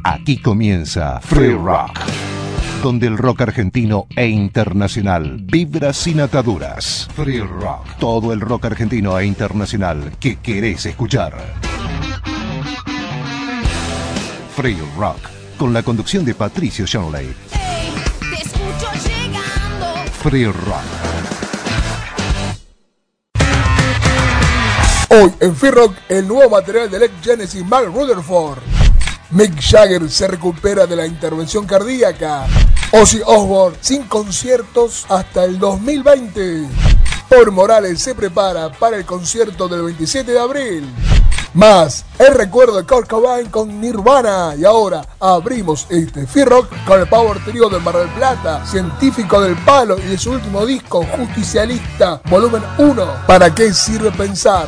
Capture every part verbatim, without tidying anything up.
Aquí comienza Free Rock, donde el rock argentino e internacional vibra sin ataduras. Free Rock, todo el rock argentino e internacional que querés escuchar. Free Rock, con la conducción de Patricio Shanley. Hey, te escucho llegando. Free Rock. Hoy en Free Rock, el nuevo material del ex Genesis Mark Rutherford. Mick Jagger se recupera de la intervención cardíaca. Ozzy Osbourne sin conciertos hasta el dos mil veinte. Paul Morales se prepara para el concierto del veintisiete de abril. Más, el recuerdo de Kurt Cobain con Nirvana. Y ahora abrimos este Free Rock con el Power Trio de Mar del Plata, Científico del Palo y de su último disco, Justicialista, volumen uno. ¿Para qué sirve pensar?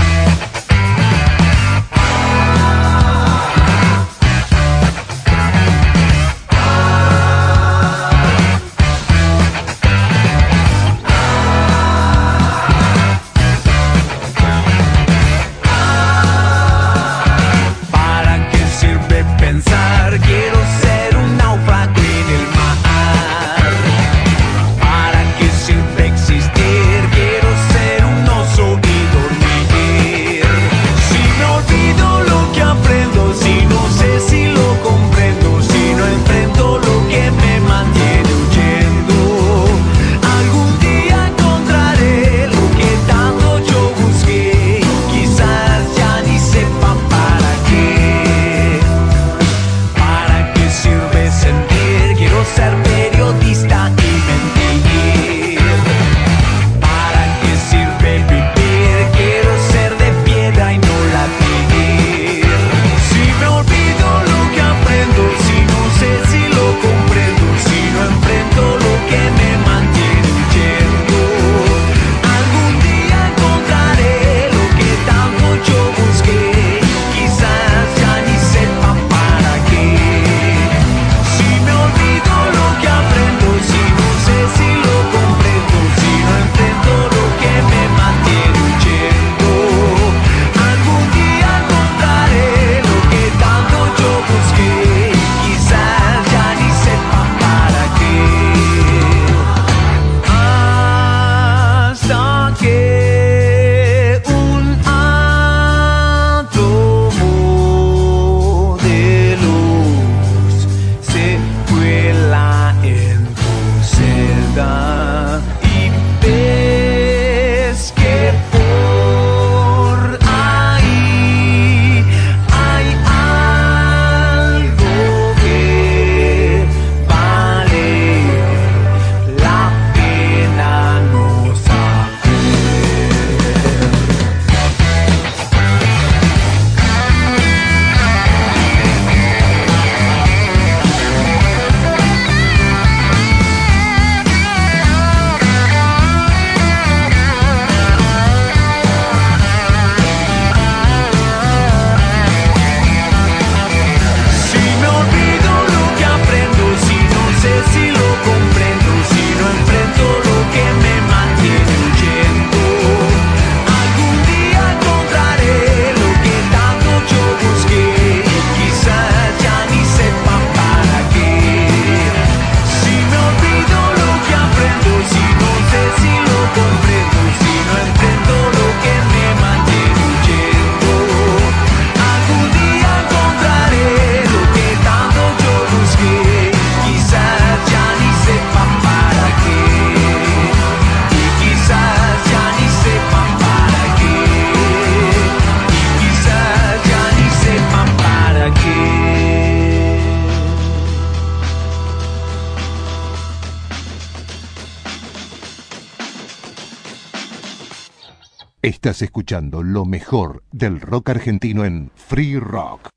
Estás escuchando lo mejor del rock argentino en Free Rock.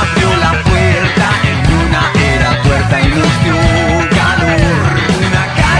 Abrió la puerta en una era tuerta y nos dio calor. Una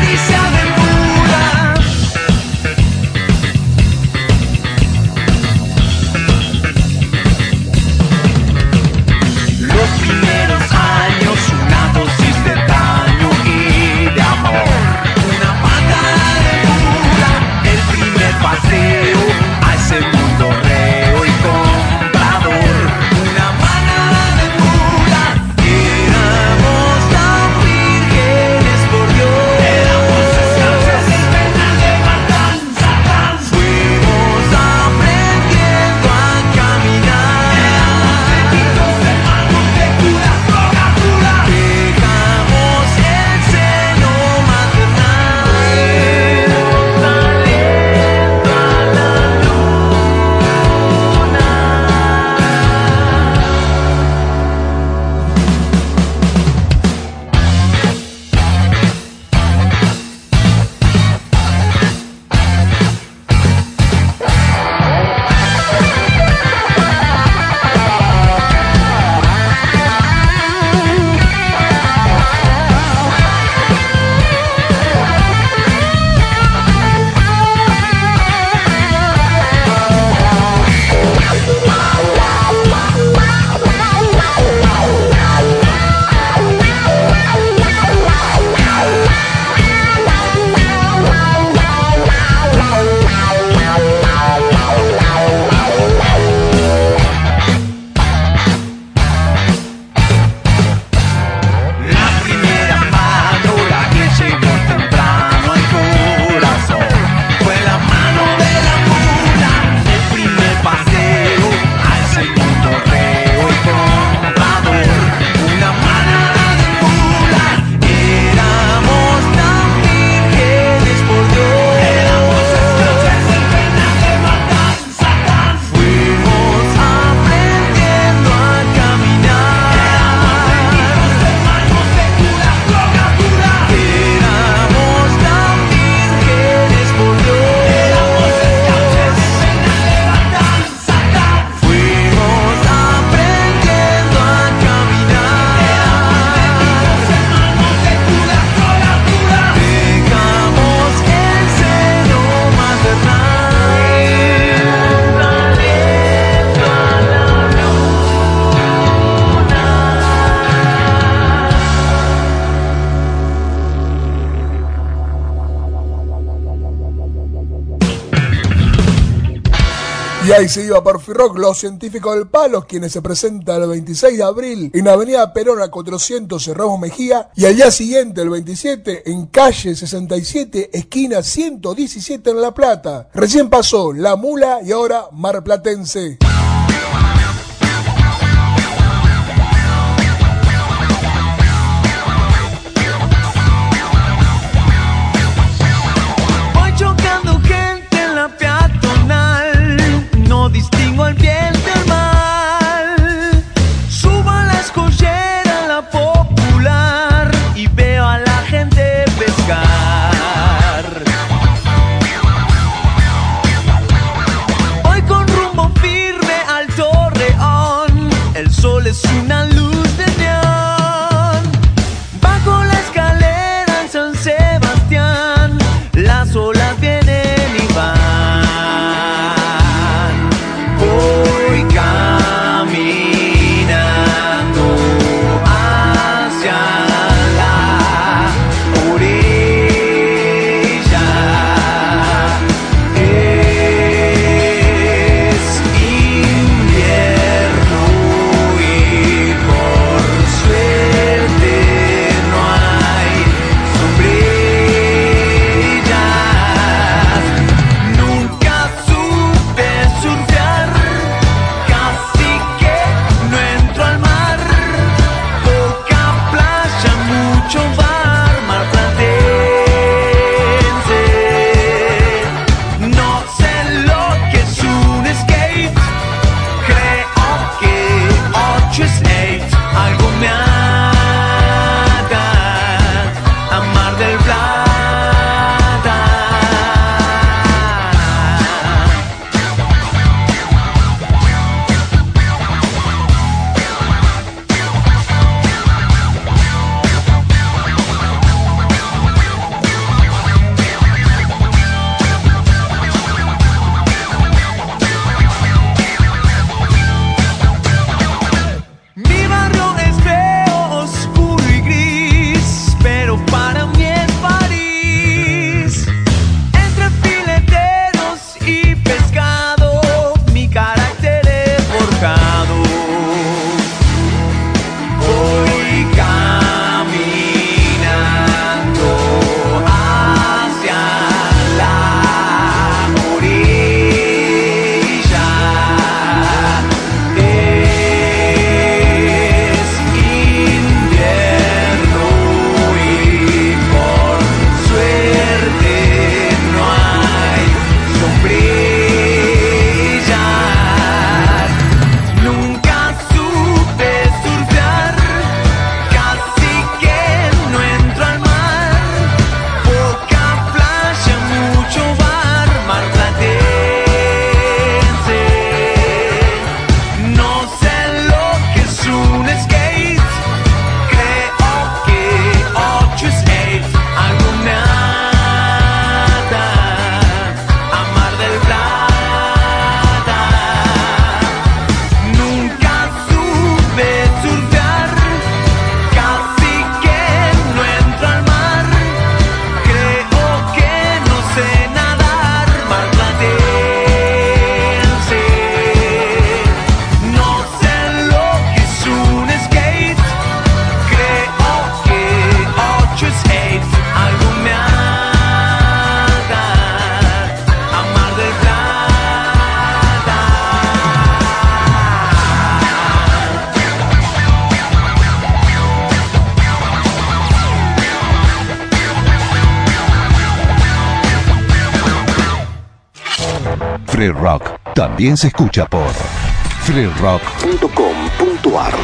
Y ahí se iba Perfil Rock, los científicos del Palo, quienes se presentan el veintiséis de abril en Avenida Perón a cuatrocientos en Ramos Mejía, y al día siguiente, el veintisiete, en calle sesenta y siete, esquina ciento diecisiete en La Plata. Recién pasó La Mula y ahora Marplatense. No distingo el bien del mal. Subo a la escollera, la Popular, y veo a la gente pescar. Voy con rumbo firme al Torreón. El sol es una luz de neón. Bajo la escalera en San Sebastián, las olas vienen y van. Free Rock también se escucha por free rock punto com punto ar.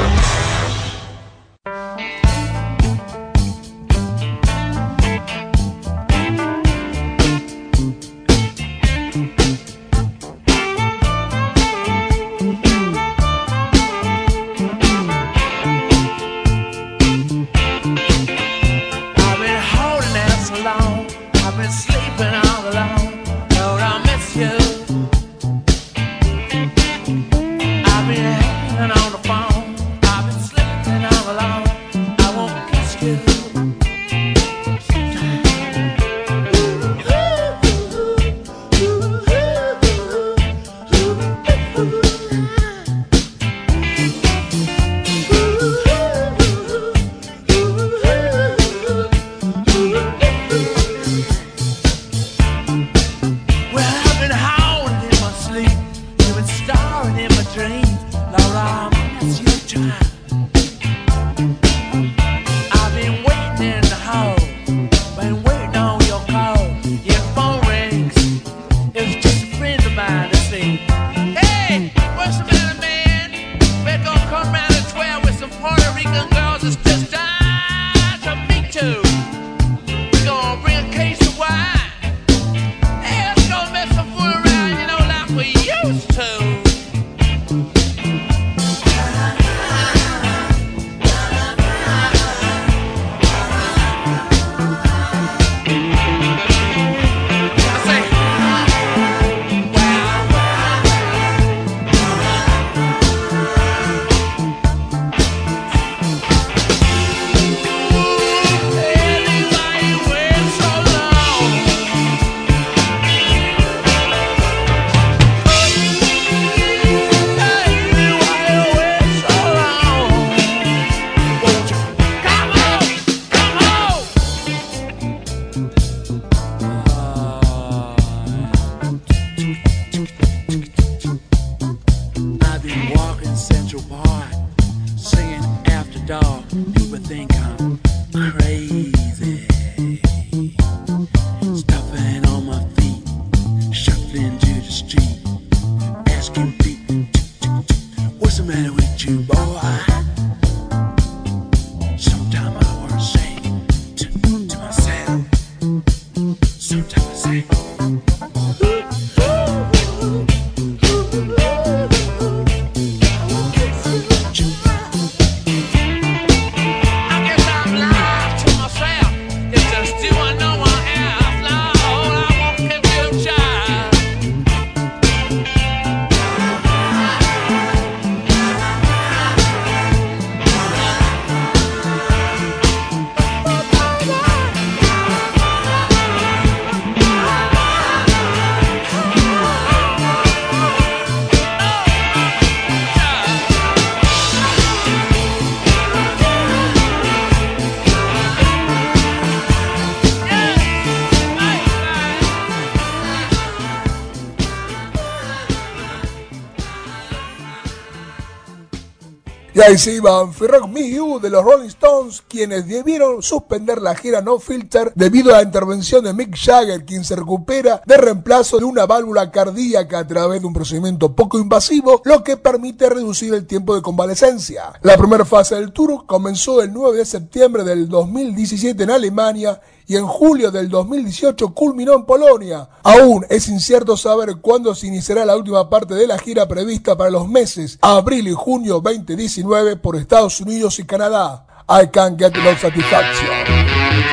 Y ahí se iban Free Rock Me You de los Rolling Stones, quienes debieron suspender la gira No Filter debido a la intervención de Mick Jagger, quien se recupera de reemplazo de una válvula cardíaca a través de un procedimiento poco invasivo, lo que permite reducir el tiempo de convalecencia. La primera fase del tour comenzó el nueve de septiembre del dos mil diecisiete en Alemania y en julio del dos mil dieciocho culminó en Polonia. Aún es incierto saber cuándo se iniciará la última parte de la gira prevista para los meses abril y junio veinte diecinueve por Estados Unidos y Canadá. I Can't Get No Satisfaction.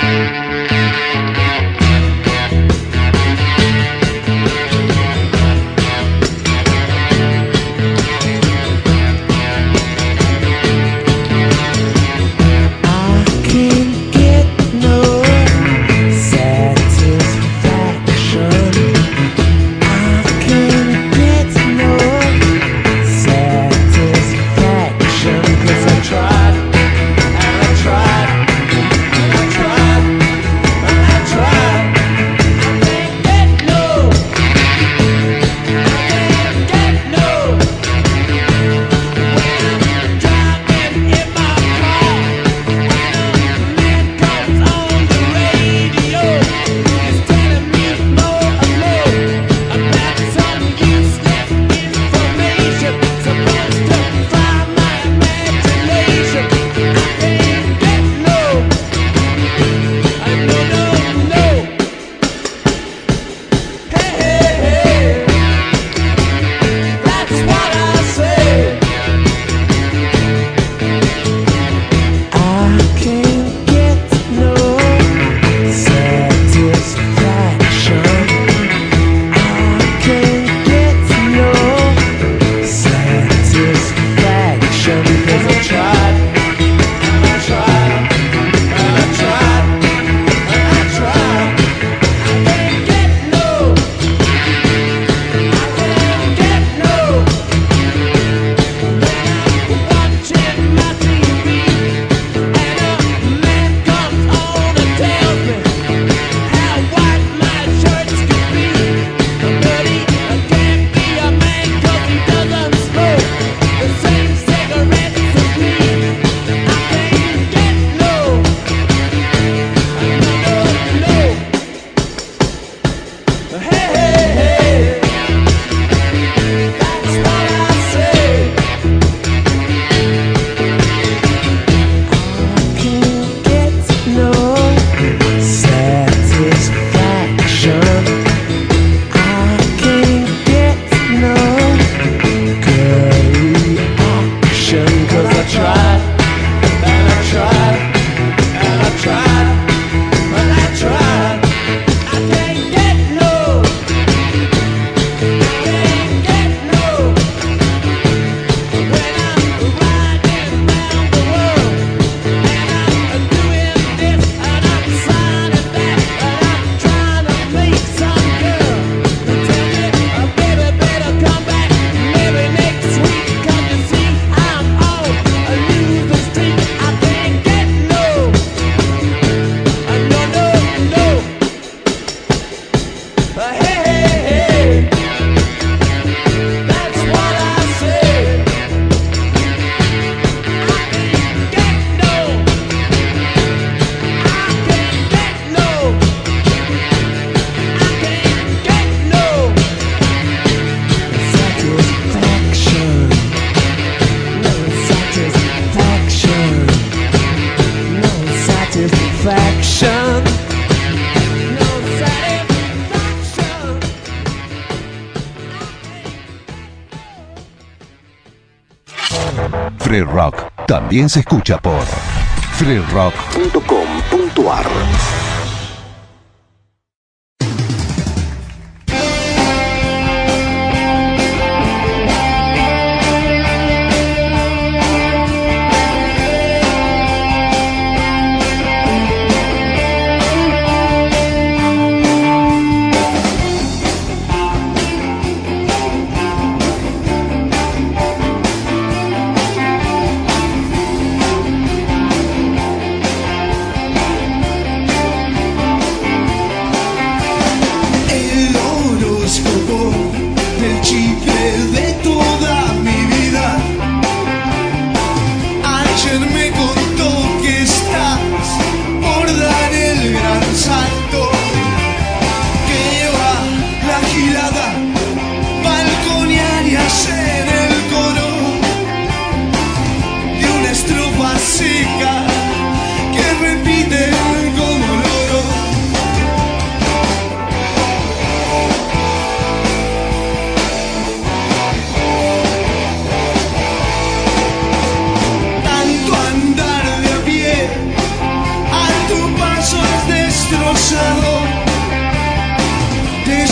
Free Rock también se escucha por free rock punto com punto ar.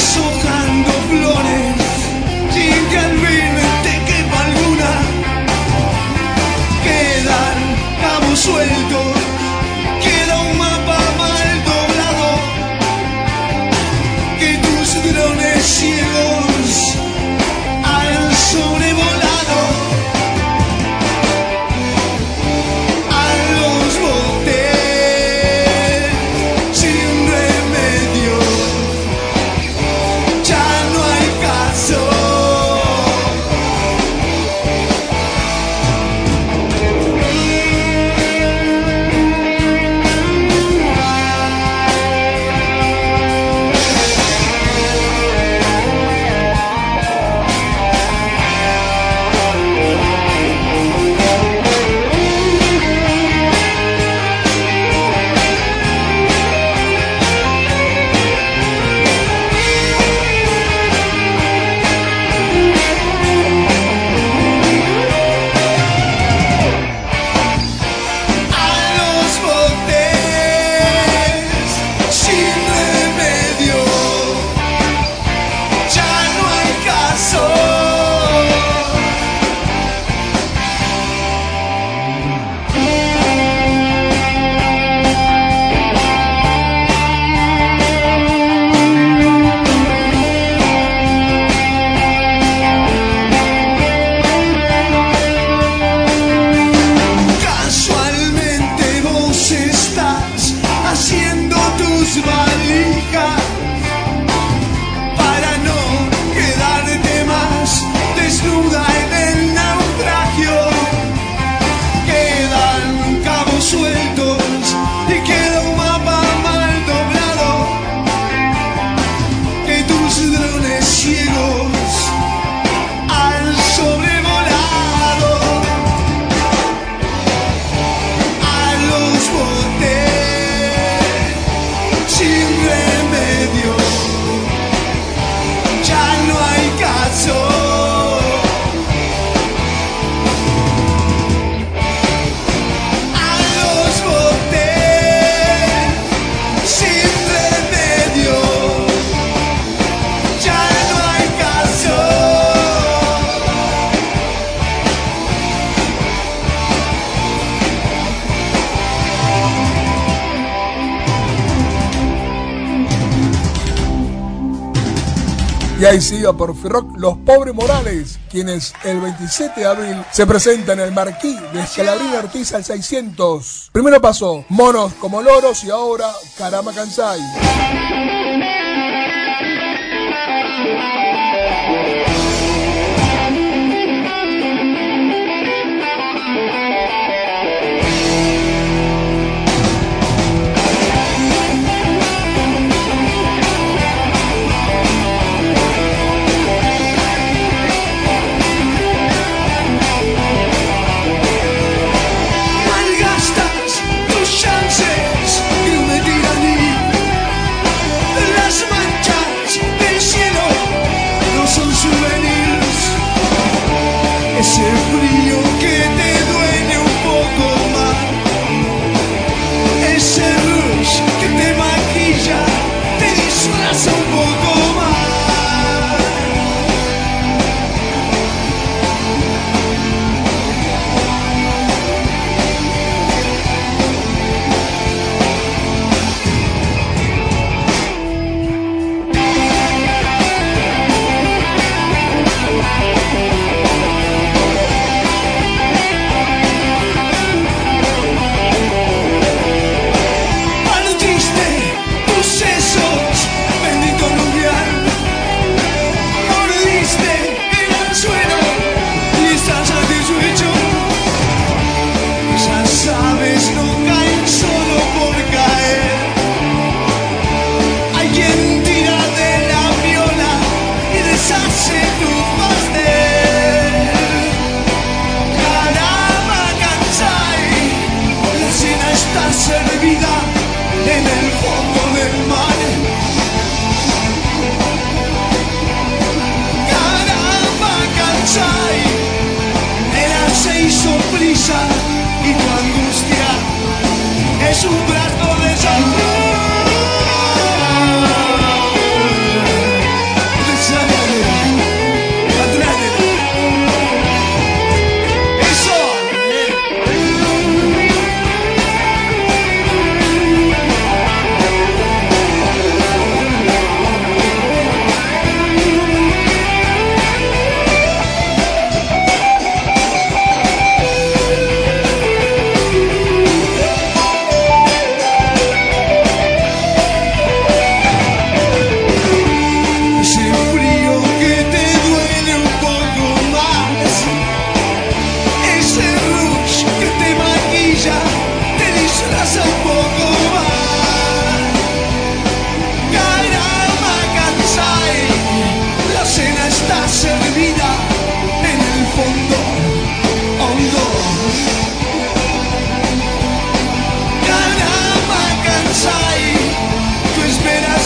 deshojando flores sin que al fin te quepa alguna. Quedan cabos sueltos, queda un mapa mal doblado que tus drones ciegos han sobrevolado. A los botes sin remedio, ya no hay caso. Y ahí sigue por Rock Los Pobres Morales, quienes el veintisiete de abril se presentan en el Marquí de Escalabrín Ortiz al seiscientos. Primero pasó Monos como Loros y ahora Carama Kansai. Las manchas del cielo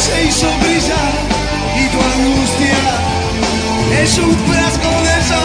se hizo brillar y tu angustia es un frasco de sol.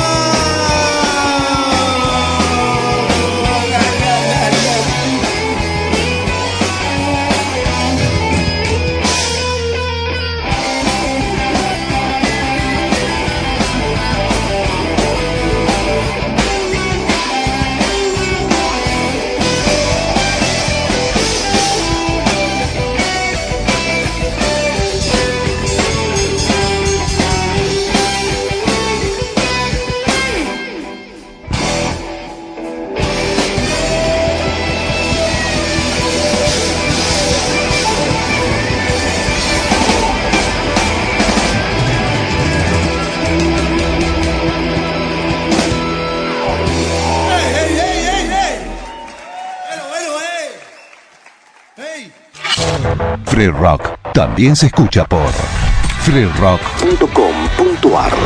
Free Rock también se escucha por free rock punto com punto ar.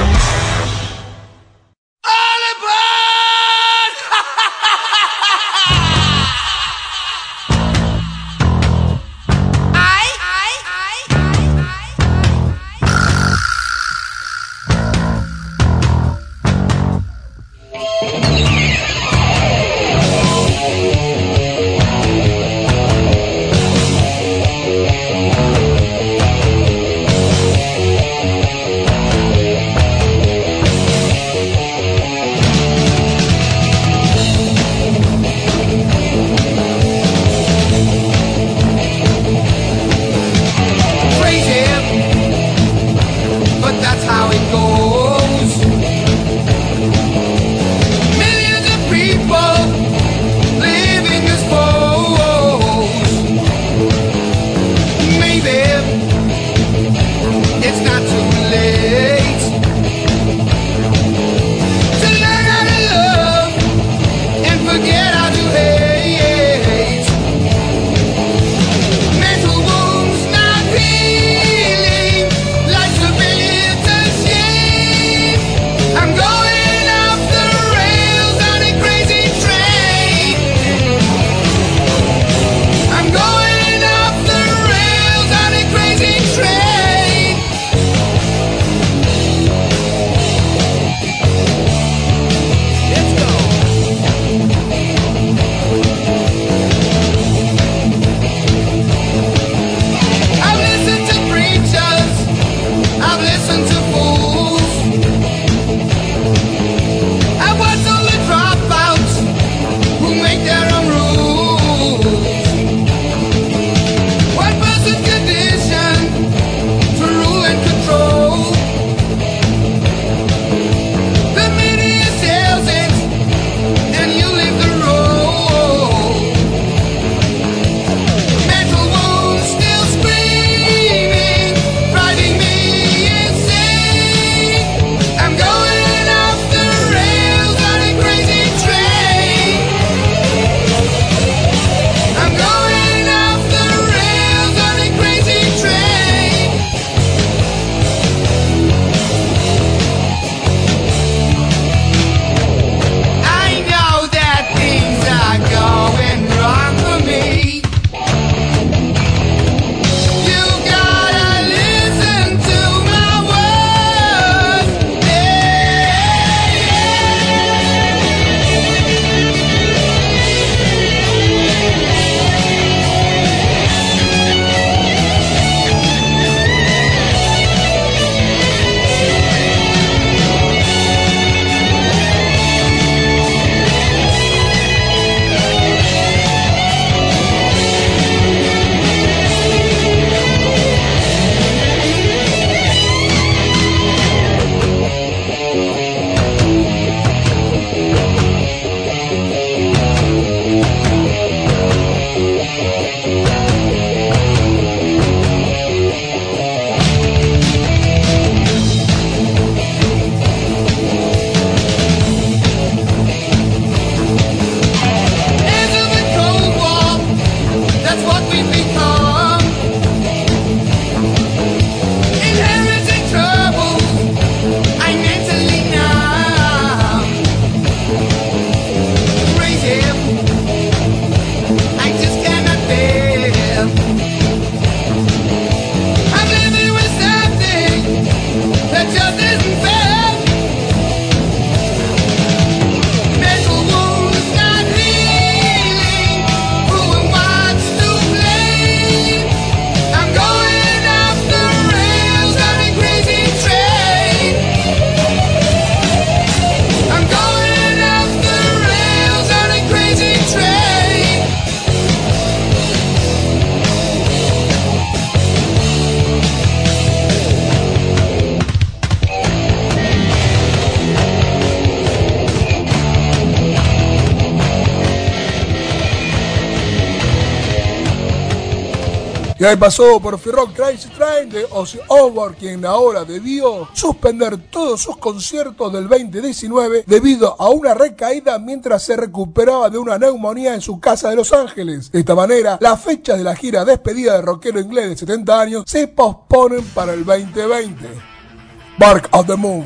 Y ahí pasó por Free Rock Crazy Train de Ozzy Osbourne, quien ahora debió suspender todos sus conciertos del veinte diecinueve debido a una recaída mientras se recuperaba de una neumonía en su casa de Los Ángeles. De esta manera, las fechas de la gira despedida del rockero inglés de setenta años se posponen para el veinte veinte. Bark of the Moon.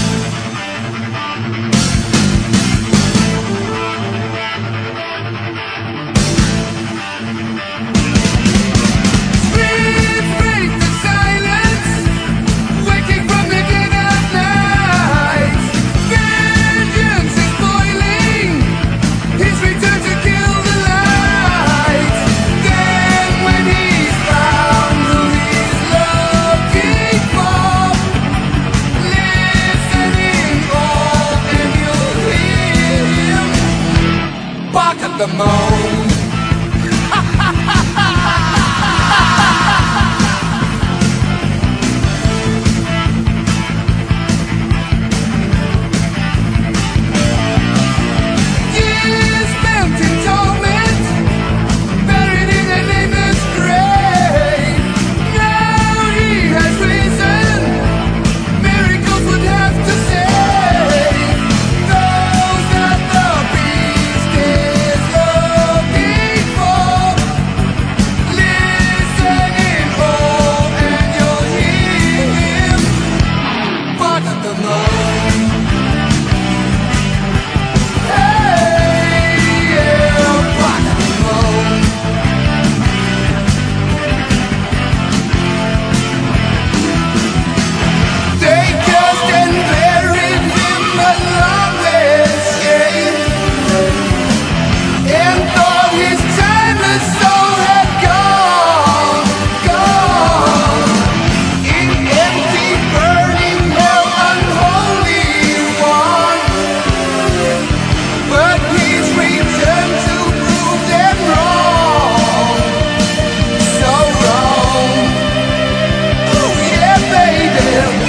The moon. Years spent in torment, buried in a nameless grave. Now he has risen, miracles would have to save those that the beast is looking for. Listen in hope and you'll hear him bark at the moon. Hey, yeah, bark at the moon. They cast and buried him along their escape, and thought his timeless soul had gone, gone. In empty, burning hell, unholy one. But he's returned to prove them wrong, so wrong. Oh yeah, baby.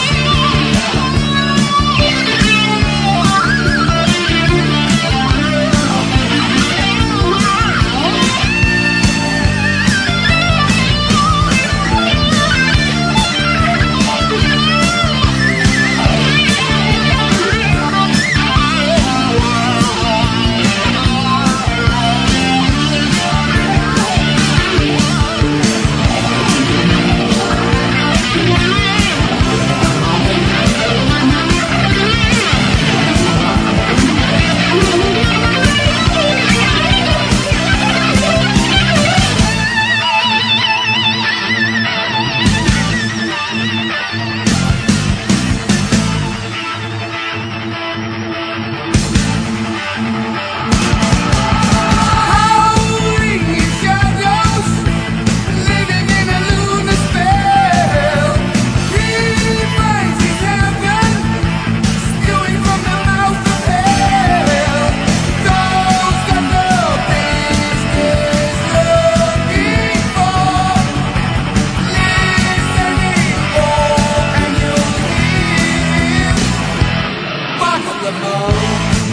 Howling in shadows, living in a lunar spell. He finds his heaven, spewing from the mouth of hell. Those that the beast is looking for. Listen in hope and you'll hear him bark at the moon.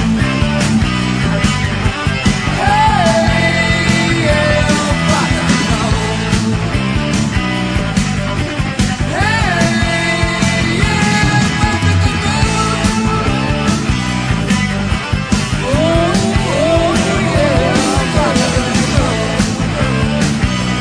Hey, yeah, bark at the moon. Hey, yeah, bark at the moon. Oh, oh, yeah, bark at the moon.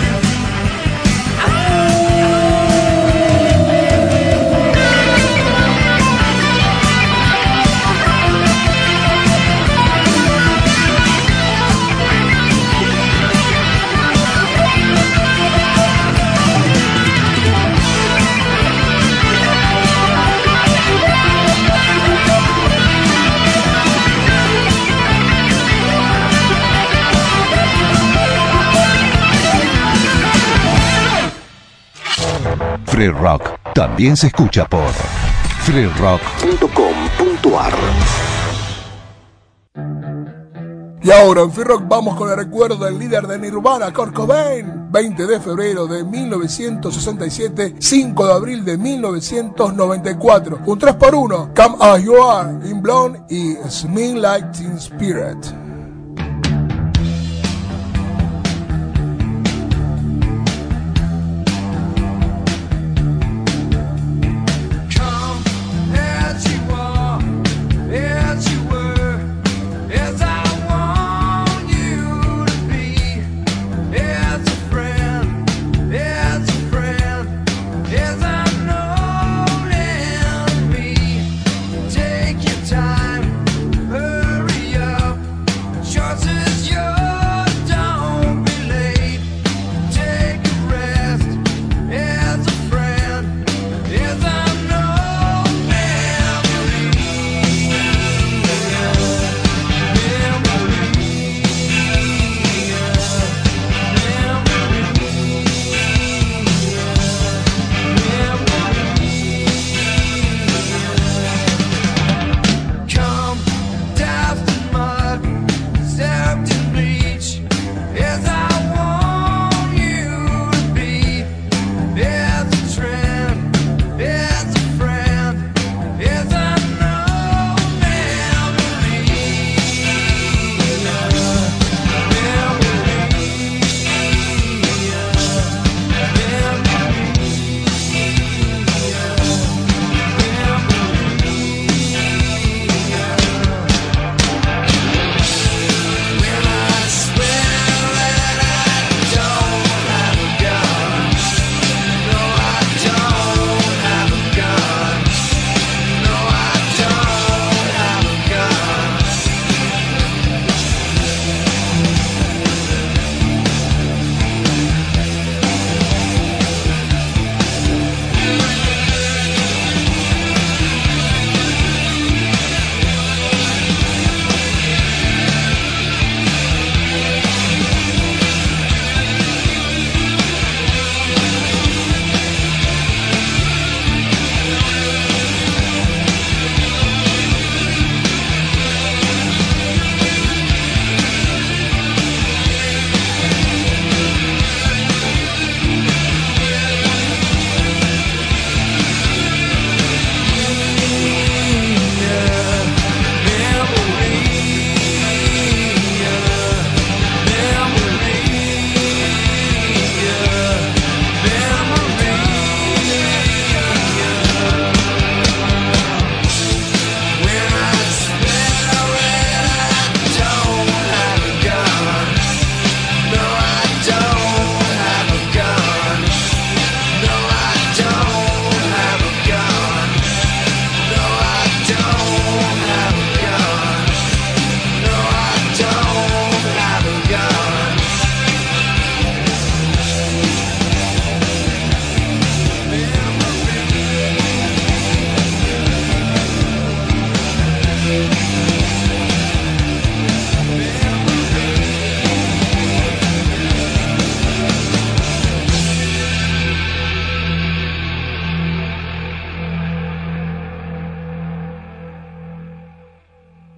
Free Rock también se escucha por free rock punto com punto a r. Y ahora en Free Rock vamos con el recuerdo del líder de Nirvana, Kurt Cobain. veinte de febrero de mil novecientos sesenta y siete, cinco de abril de mil novecientos noventa y cuatro. Un tres por uno, Come As You Are, In Blonde y Smell Like Teen Spirit.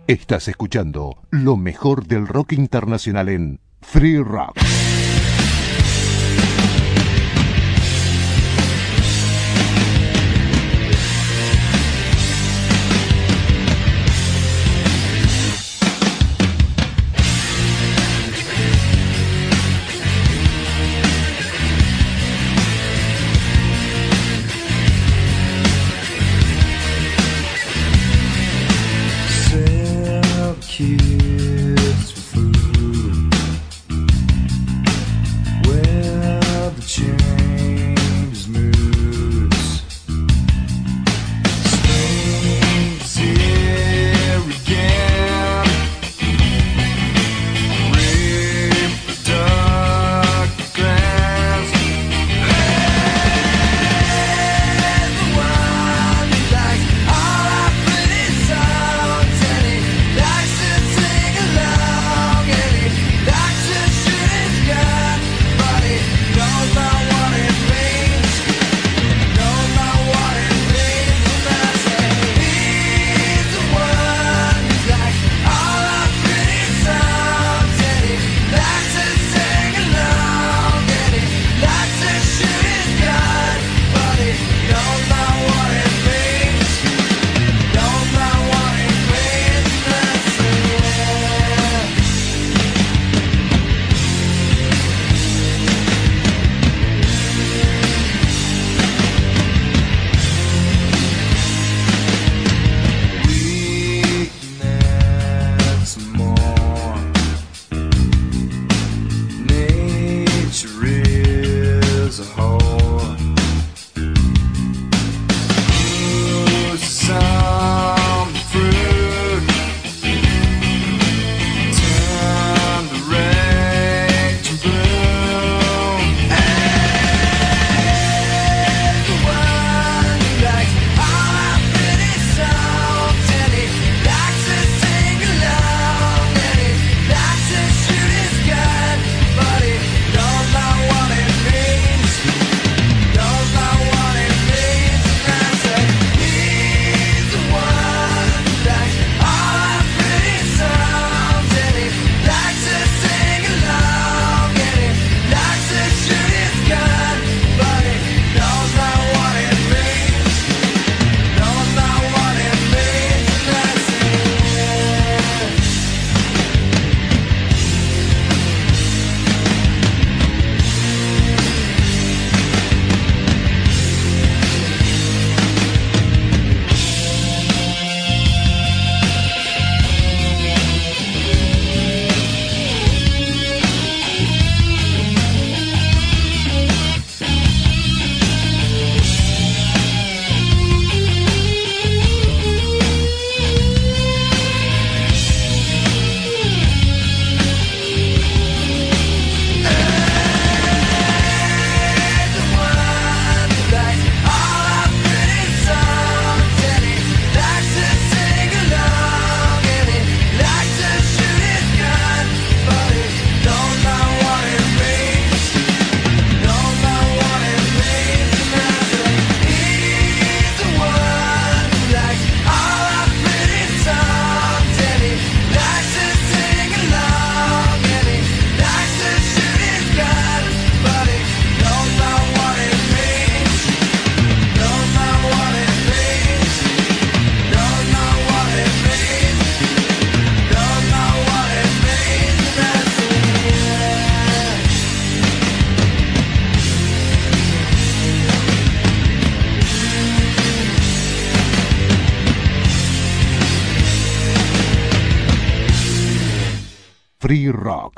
Estás escuchando lo mejor del rock internacional en Free Rock. Kids for food. Well, the change moods. Spring's here again. Reproductive glands. Everyone likes all our pretty songs, and he likes to sing along, and he likes to shoot his gun, but he knows not what it means. Knows not what it means. And I say he's the one who likes all our pretty songs, and he likes to sing along, and he likes to shoot his gun, but he knows not what it means. Knows not what it means. And I say weakness more. Nature is a whore. Who's some fruit? Turn the rage to bloom. Everyone likes all our pretty songs, and he likes to sing along, and he likes to shoot his gun, but he knows not what it means. Knows not what it means. And I say he's the one who likes all our pretty songs, and he likes to sing along, and he likes to shoot his gun, but he knows not what it means. Knows not what it means. And I say the one who likes all our pretty songs, and he likes to sing along, and he likes to shoot his gun, but he knows not what it means. Knows not what it means. And I say he's the one who likes all our pretty songs, and he likes to sing along, and he likes to shoot his gun, but he knows not what it means. Knows not what it means. Knows not what it means. Knows not what it means. And I say Free Rock.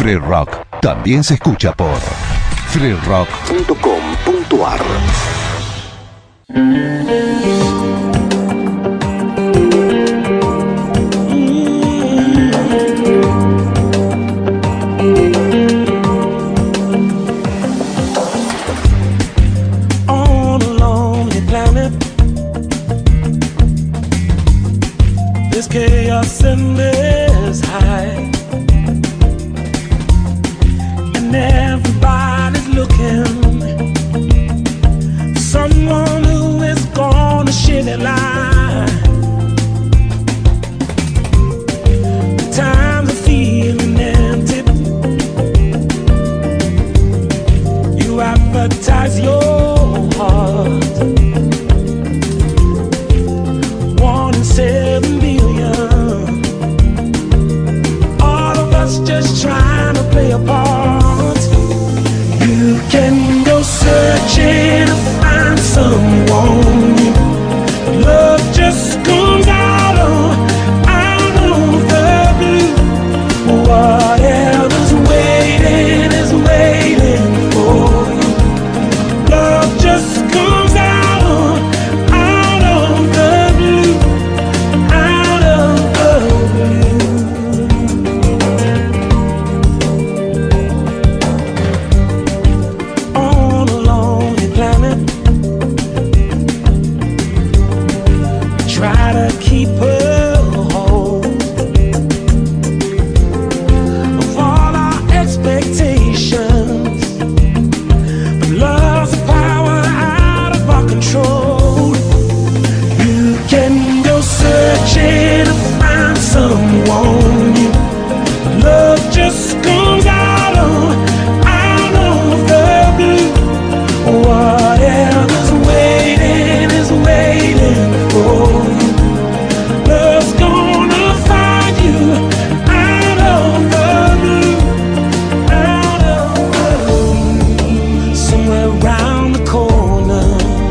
Free Rock también se escucha por free rock punto com punto ar. On a lonely planet, there's chaos and there's high, and everybody's looking for someone who is gonna share their life. The times are feeling empty. You advertise your heart, one in seven billion. All of us just trying to play a part. You can go searching to find someone. Love just comes out of, out of the blue. Whatever's waiting is waiting for you. Love just comes out of, out of the blue, out of the blue. On a lonely planet, try to keep her whole of all our expectations. But love's a power out of our control. You can go searching to find someone. Love just comes out of, out of the blue. Whatever's waiting is waiting for you. Love's gonna find you out of the blue, out of the blue. Somewhere around the corner,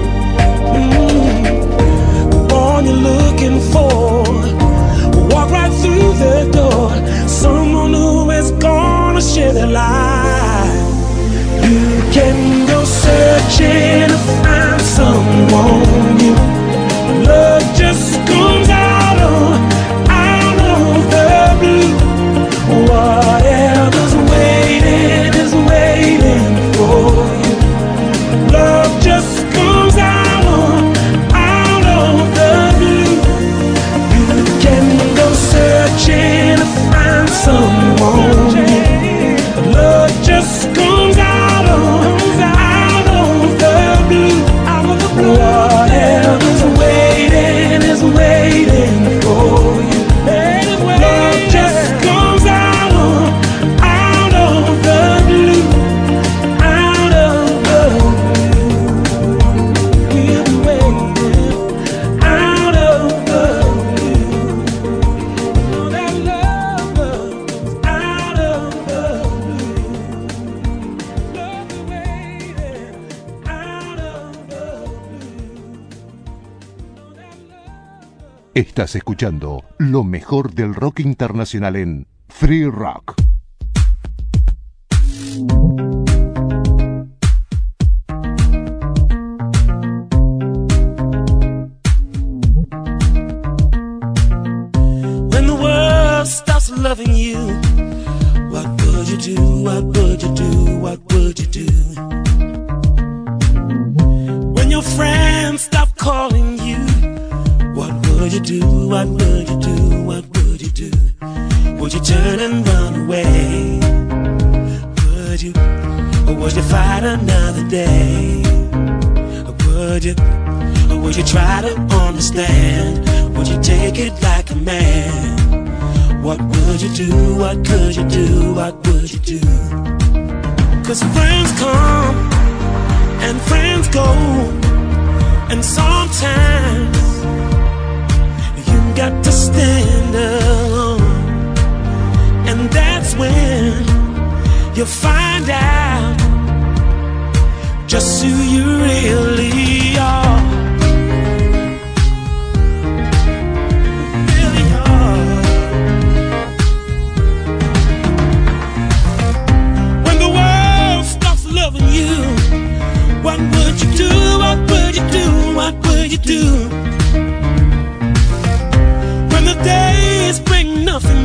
mm, the one you're looking for. Walk right through the door. Someone who is gonna share their life. You can go searching to find someone new. Love just comes out of, out of the blue. Whatever's waiting is waiting for you. Love just comes out of, out of the blue. You can go searching to find someone new. Love just comes out of, out of the blue, out of the blue. Whatever's waiting is waiting for you. Love just comes out of, out of the blue, out of the blue. We'll be waiting out of the blue. Know that love comes out of the blue. Love be waiting out of the blue. Know that love. Estás escuchando lo mejor del rock internacional en Free Rock. When the world stops loving you, what would you do? What would you do? What would you do? When your friends stop calling you, what would you do? What would you do? What would you do? Would you turn and run away? Would you? Or would you fight another day? Or would you? Or would you try to understand? Would you take it like a man? What would you do? What could you do? What would you do? 'Cause friends come and friends go, and sometimes you got to stand alone. And that's when you find out just who you really are. Really are.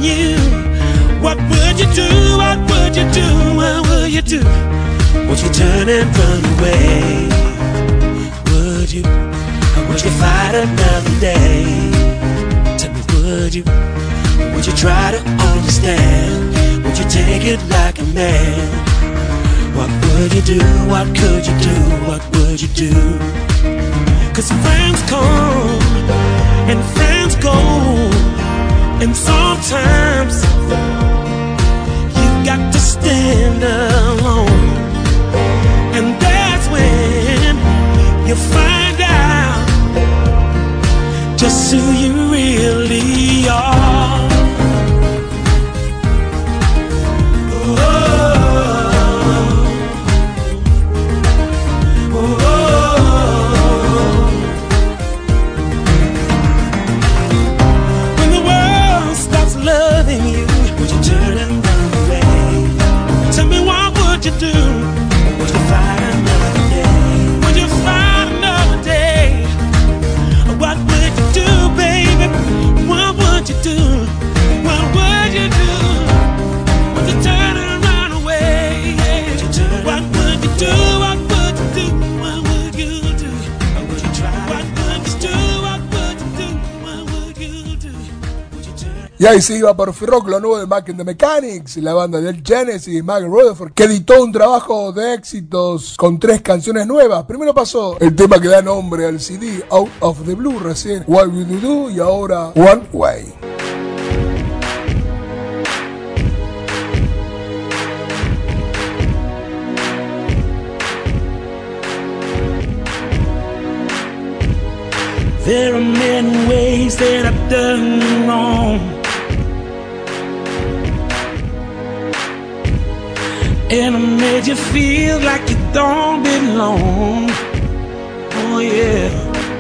you, what would you do? What would you do? What would you do? Would you turn and run away? Would you? Or would you fight another day? Tell me, would you? Or would you try to understand? Would you take it like a man? What would you do? What could you do? What would you do? 'Cause friends come and friends go, and sometimes you've got to stand alone. And that's when you find out just who you really are. Y ahí se iba por Rock, lo nuevo de Mac and the Mechanics, la banda del Genesis, Mark Rutherford, que editó un trabajo de éxitos con tres canciones nuevas. Primero pasó el tema que da nombre al C D, Out of the Blue, recién What Will You Do, y ahora One Way. There are many ways that I've done wrong, and I made you feel like you don't belong. Oh yeah.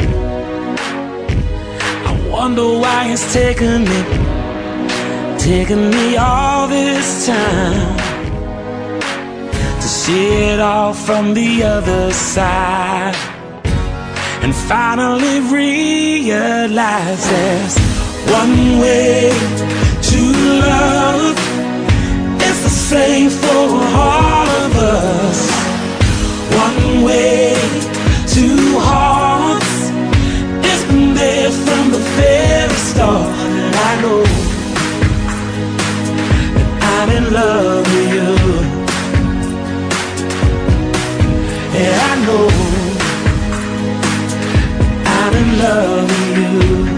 I wonder why it's taking me, taking me all this time to see it all from the other side, and finally realize there's one way to love. It's the same for all of us. One way, two hearts. It's been there from the very start. And I know that I'm in love with you. Yeah, I know I'm in love with you.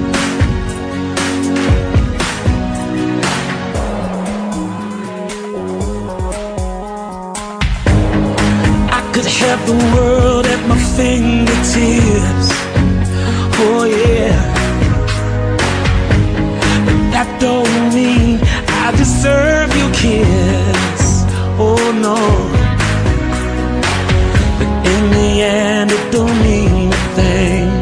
I could have the world at my fingertips. Oh yeah. But that don't mean I deserve your kiss. Oh no. But in the end it don't mean a thing,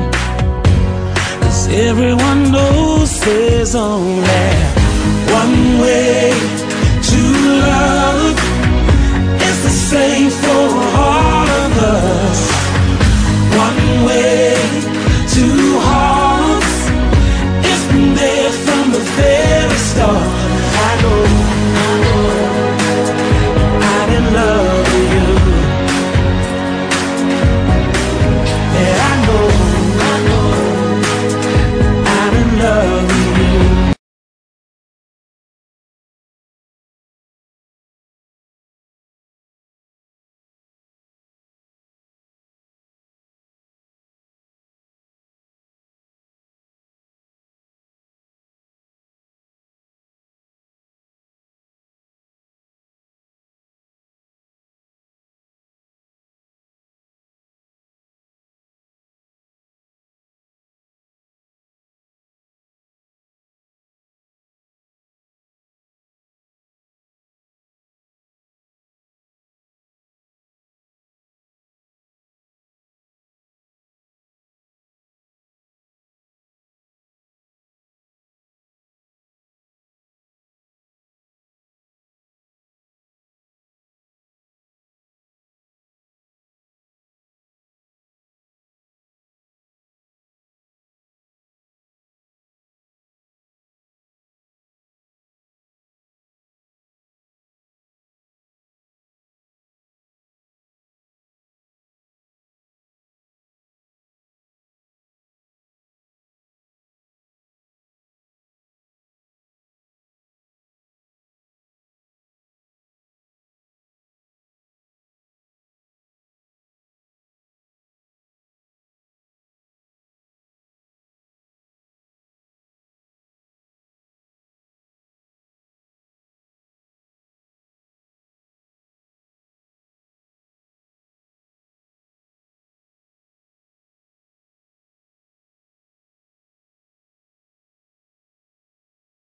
everyone knows there's only one way